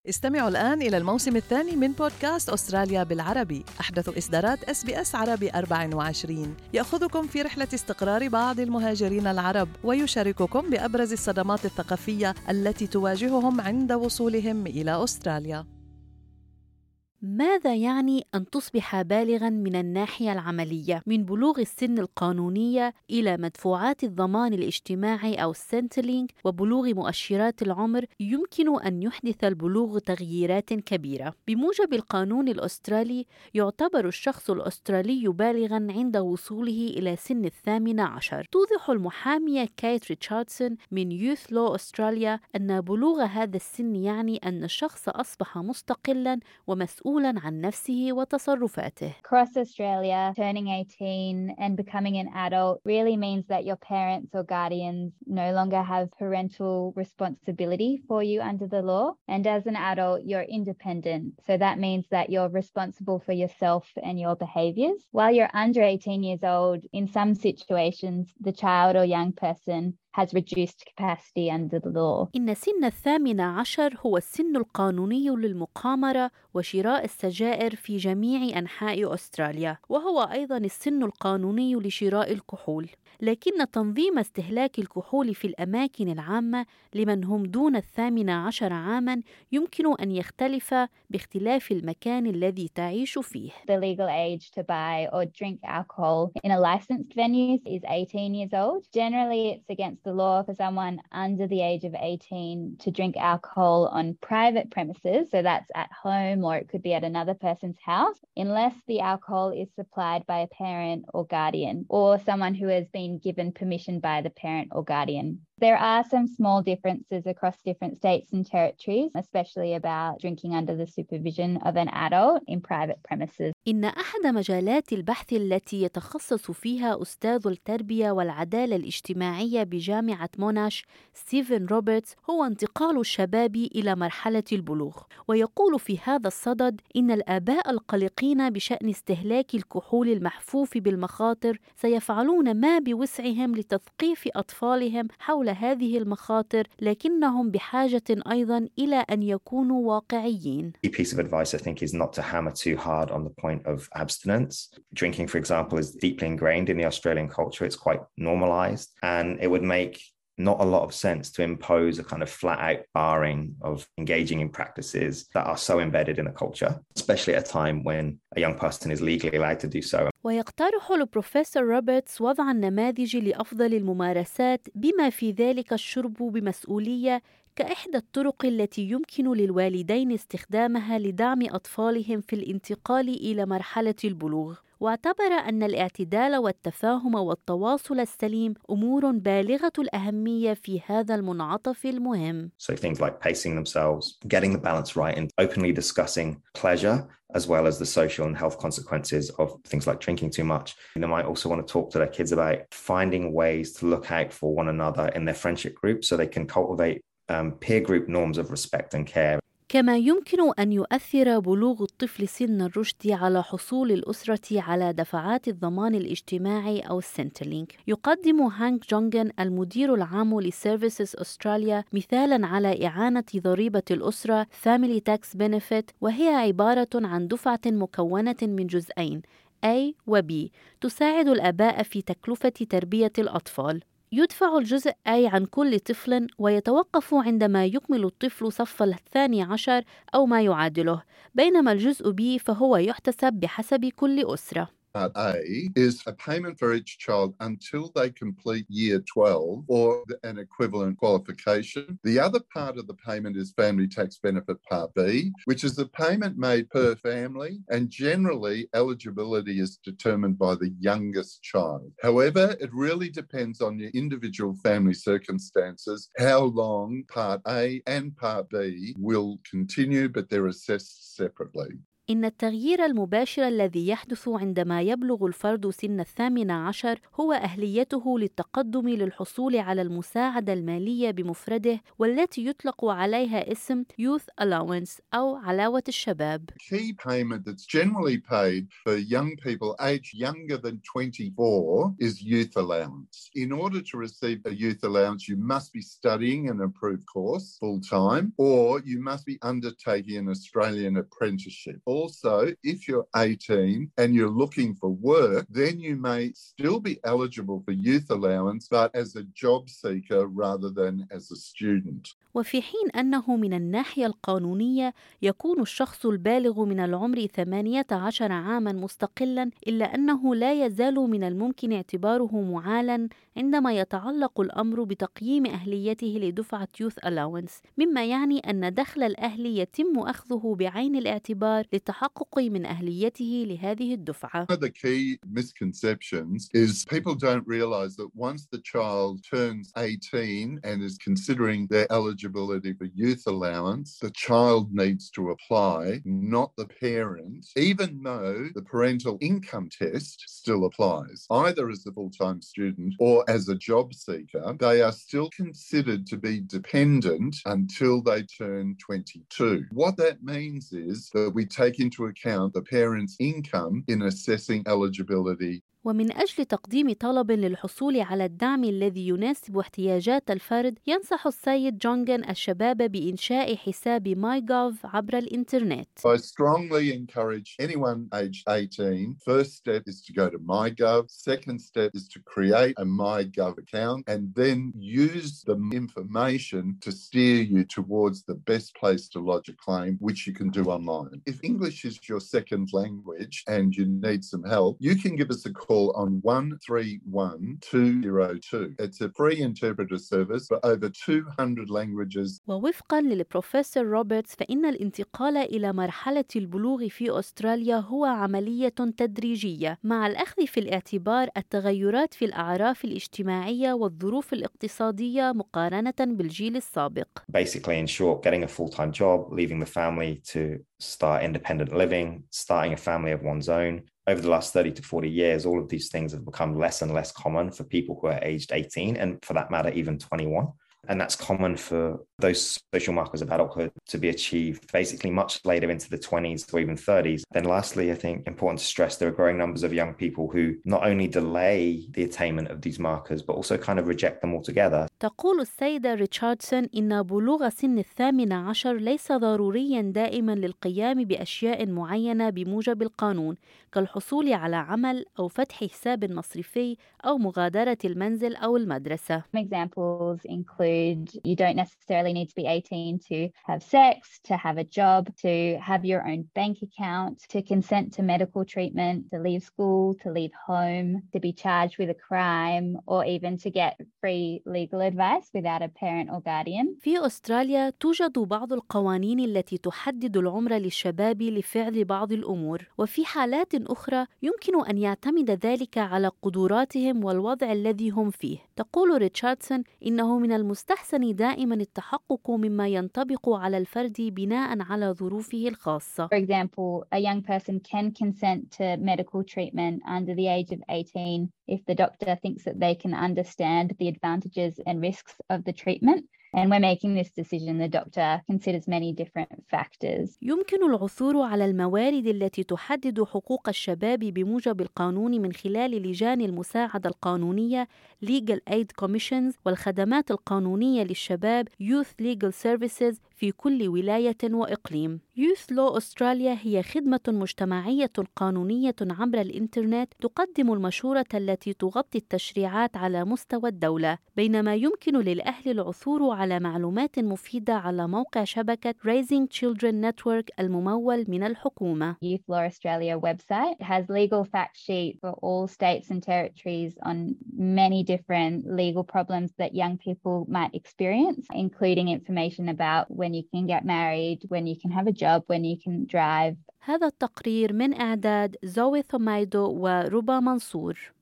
استمعوا الآن إلى الموسم الثاني من بودكاست أستراليا بالعربي، أحدث إصدارات SBS عربي 24، يأخذكم في رحلة استقرار بعض المهاجرين العرب ويشارككم بأبرز الصدمات الثقافية التي تواجههم عند وصولهم إلى أستراليا. ماذا يعني أن تصبح بالغاً من الناحية العملية من بلوغ السن القانونية إلى مدفوعات الضمان الاجتماعي أو السنتلينج وبلوغ مؤشرات العمر؟ يمكن أن يحدث البلوغ تغييرات كبيرة. بموجب القانون الأسترالي يعتبر الشخص الأسترالي بالغاً عند وصوله إلى سن 18. توضح المحامية كايت ريتشاردسون من يوث لو أستراليا أن بلوغ هذا السن يعني أن الشخص أصبح مستقلاً ومسؤولاً عن نفسه وتصرفاته. Across Australia, turning 18 and becoming an adult really means that your parents or guardians no longer have parental responsibility for you under the law. And as an adult, you're independent. So that means that you're responsible for yourself and your behaviours. While you're under 18 years old, in some situations, the child or young person has reduced capacity under the law. إن سن 18 هو السن القانوني للمقامرة وشراء السجائر في جميع أنحاء أستراليا، وهو أيضاً السن القانوني لشراء الكحول. لكن تنظيم استهلاك الكحول في الأماكن العامة لمن هم دون 18 عاماً يمكن أن يختلف باختلاف المكان الذي تعيش فيه. The legal age to buy or drink alcohol in a licensed venue is 18 years old. Generally, it's against the law for someone under the age of 18 to drink alcohol on private premises. So that's at home or it could be at another person's house, unless the alcohol is supplied by a parent or guardian or someone who has been given permission by the parent or guardian. There are some small differences across different states and territories, especially about drinking under the supervision of an adult in private premises. إن أحد مجالات البحث التي يتخصص فيها أستاذ التربية والعدالة الاجتماعية بجامعة موناش ستيفن روبرتس هو انتقال الشباب إلى مرحلة البلوغ، ويقول في هذا الصدد إن الآباء القلقين بشأن استهلاك الكحول المحفوف بالمخاطر سيفعلون ما بوسعهم لتثقيف أطفالهم حول هذه المخاطر، لكنهم بحاجة أيضاً إلى أن يكونوا واقعيين. A piece of advice I think is not to hammer too hard on the point of abstinence. Drinking, for example, is deeply ingrained in the Australian culture. It's quite normalized, and it would make not a lot of sense to impose a kind of flat out barring of engaging in practices that are so embedded in the culture, especially at a time when a young person is legally allowed to do so. ويقترح البروفيسور روبرتس وضع النماذج لأفضل الممارسات بما في ذلك الشرب بمسؤولية كإحدى الطرق التي يمكن للوالدين استخدامها لدعم أطفالهم في الانتقال إلى مرحلة البلوغ. واعتبر أن الاعتدال والتفاهم والتواصل السليم أمور بالغة الأهمية في هذا المنعطف المهم. So things like pacing themselves, getting the balance right, and openly discussing pleasure as well as the social and health consequences of things like drinking too much. They might also want to talk to their kids about finding ways to look out for one another in their friendship group so they can cultivate peer group norms of respect and care. كما يمكن أن يؤثر بلوغ الطفل سن الرشد على حصول الأسرة على دفعات الضمان الاجتماعي أو السنتلينج. يقدم هانك جونغن المدير العام لسيرفيسز أستراليا مثالاً على إعانة ضريبة الأسرة Family Tax Benefit، وهي عبارة عن دفعة مكونة من جزئين A و B تساعد الآباء في تكلفة تربية الأطفال. يدفع الجزء A عن كل طفل ويتوقف عندما يكمل الطفل صف 12 أو ما يعادله، بينما الجزء B فهو يحتسب بحسب كل أسرة. Part A is a payment for each child until they complete year 12 or an equivalent qualification. The other part of the payment is Family Tax Benefit Part B, which is the payment made per family, and generally eligibility is determined by the youngest child. However, it really depends on your individual family circumstances, how long Part A and Part B will continue, but they're assessed separately. إن التغيير المباشر الذي يحدث عندما يبلغ الفرد سن 18 هو أهليته للتقدم للحصول على المساعدة المالية بمفرده، والتي يطلق عليها اسم Youth Allowance أو علاوة الشباب. Key payment that's generally paid for young people aged younger than 24 is youth allowance. In order to receive a youth allowance, you must be studying an approved course full-time, or you must be undertaking an Australian apprenticeship. Also, if you're 18 and you're looking for work, then you may still be eligible for youth allowance, but as a job seeker rather than as a student. وفي حين أنه من الناحية القانونية يكون الشخص البالغ من العمر 18 عاماً مستقلاً، إلا أنه لا يزال من الممكن اعتباره معالاً عندما يتعلق الأمر بتقييم أهليته لدفعة Youth Allowance، مما يعني أن دخل الأهل يتم أخذه بعين الاعتبار للتحقق من أهليته لهذه الدفعة. One of the key misconceptions is people don't realise that once the child turns 18 and is considering their eligibility for youth allowance, the child needs to apply, not the parent, even though the parental income test still applies. Either as a full-time student or as a job seeker, they are still considered to be dependent until they turn 22. What that means is that we take into account the parent's income in assessing eligibility. ومن أجل تقديم طلب للحصول على الدعم الذي يناسب احتياجات الفرد، ينصح السيد جونغن الشباب بإنشاء حساب MyGov عبر الإنترنت. I strongly encourage anyone aged 18, first step is to go to MyGov, second step is to create a MyGov account and then use the information to steer you towards the best place to lodge a claim, which you can do online. If English is your second language and you need some help, you can give us a call on 131202. It's a free interpreter service for over 200 languages. ووفقاً للبروفيسور روبرتس، فإن الانتقال إلى مرحلة البلوغ في أستراليا هو عملية تدريجية مع الأخذ في الاعتبار التغيرات في الأعراف الاجتماعية والظروف الاقتصادية مقارنة بالجيل السابق. Basically, in short, getting a full-time job, leaving the family to start independent living, starting a family of one's own. Over the last 30 to 40 years, all of these things have become less and less common for people who are aged 18 and, for that matter, even 21. And that's common for those social markers of adulthood to be achieved basically much later into the 20s or even 30s. Then lastly, I think important to stress there are growing numbers of young people who not only delay the attainment of these markers, but also kind of reject them altogether. تقول السيدة ريتشاردسون إن بلوغ سن 18 ليس ضرورياً دائماً للقيام بأشياء معينة بموجب القانون، كالحصول على عمل أو فتح حساب مصرفي أو مغادرة المنزل أو المدرسة. Examples include you don't necessarily need to be 18 to have sex, to have a job, to have your own bank account, to consent to medical treatment, to leave school, to leave home, to be charged with a crime, or even to get free legal advice without a parent or guardian. في أستراليا توجد بعض القوانين التي تحدد العمر للشباب لفعل بعض الأمور، وفي حالات أخرى يمكن أن يعتمد ذلك على قدراتهم والوضع الذي هم فيه. تقول ريتشاردسون إنه من المستحسن دائما التحقق مما ينطبق على الفرد بناء على ظروفه الخاصة. For example, a young person can consent to medical treatment under the age of 18 if the doctor thinks that they can understand the advantages and risks of the treatment. And when making this decision, the doctor considers many different factors. يمكن العثور على الموارد التي تحدد حقوق الشباب بموجب القانون من خلال لجان المساعدة القانونية Legal Aid Commissions والخدمات القانونية للشباب Youth Legal Services في كل ولاية وإقليم. Youth Law Australia هي خدمة مجتمعية قانونية عبر الإنترنت تقدم المشورة التي تغطي التشريعات على مستوى الدولة، بينما يمكن للأهل العثور على معلومات مفيدة على موقع شبكة Raising Children Network الممول من الحكومة. Youth Law Australia website has legal fact sheet for all states and territories on many different legal problems that young people might experience, including information about when you can get married, when you can have a job, when you can drive. هذا التقرير من إعداد زوي ثمايدو وربا منصور.